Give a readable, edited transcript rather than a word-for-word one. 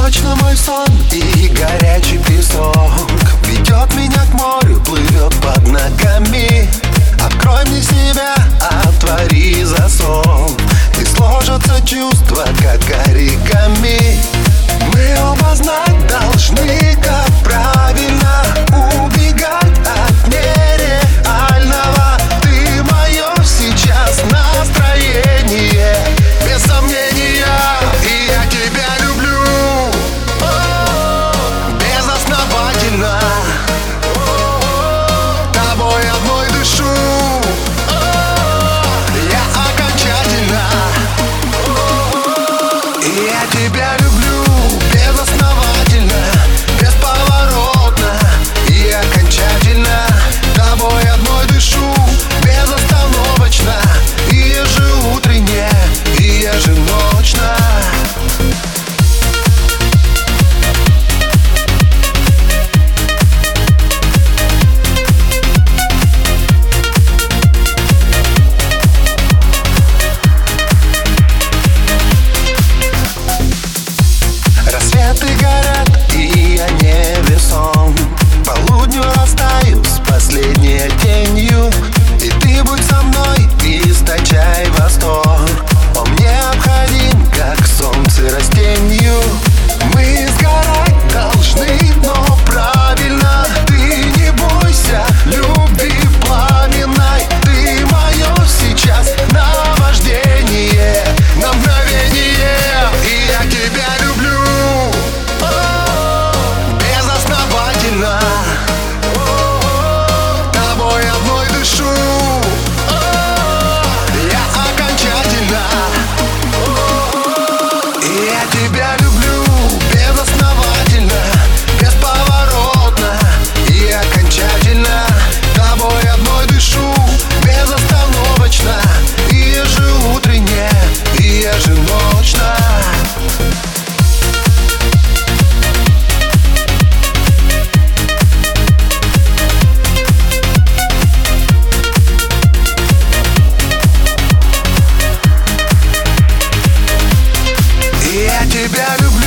точно мой сон и горячий песок ведет меня к морю, плывет под ногами. Открой мне себя, отвори засов, и сложатся чувства, как оригами. Мы оба знать должны, как правильно убегать от нереального. Ты мое сейчас настроение, без сомнения, и я тебя люблю безосновательно. Тобой одной дышу я окончательно. И я тебя люблю безосновательно, бесповоротно и окончательно. Тобой одной дышу безостановочно, и ежеутренне, и еженочно. Рассветы горят, и я невесом, к полудню растаю с последней тенью. И ты будь со мной, источай восторг, он необходим, как солнце растенью. Мы сгорать должны, но правильно. Ты не бойся любви пламенной. Ты мое сейчас наваждение, на мгновение. И я тебя люблю безосновательно. Тобой одной дышу я окончательно. И я тебя люблю безосновательно, бесповоротно и окончательно. Тобой одной дышу безостановочно, и ежеутренне, и еженочно. Я тебя люблю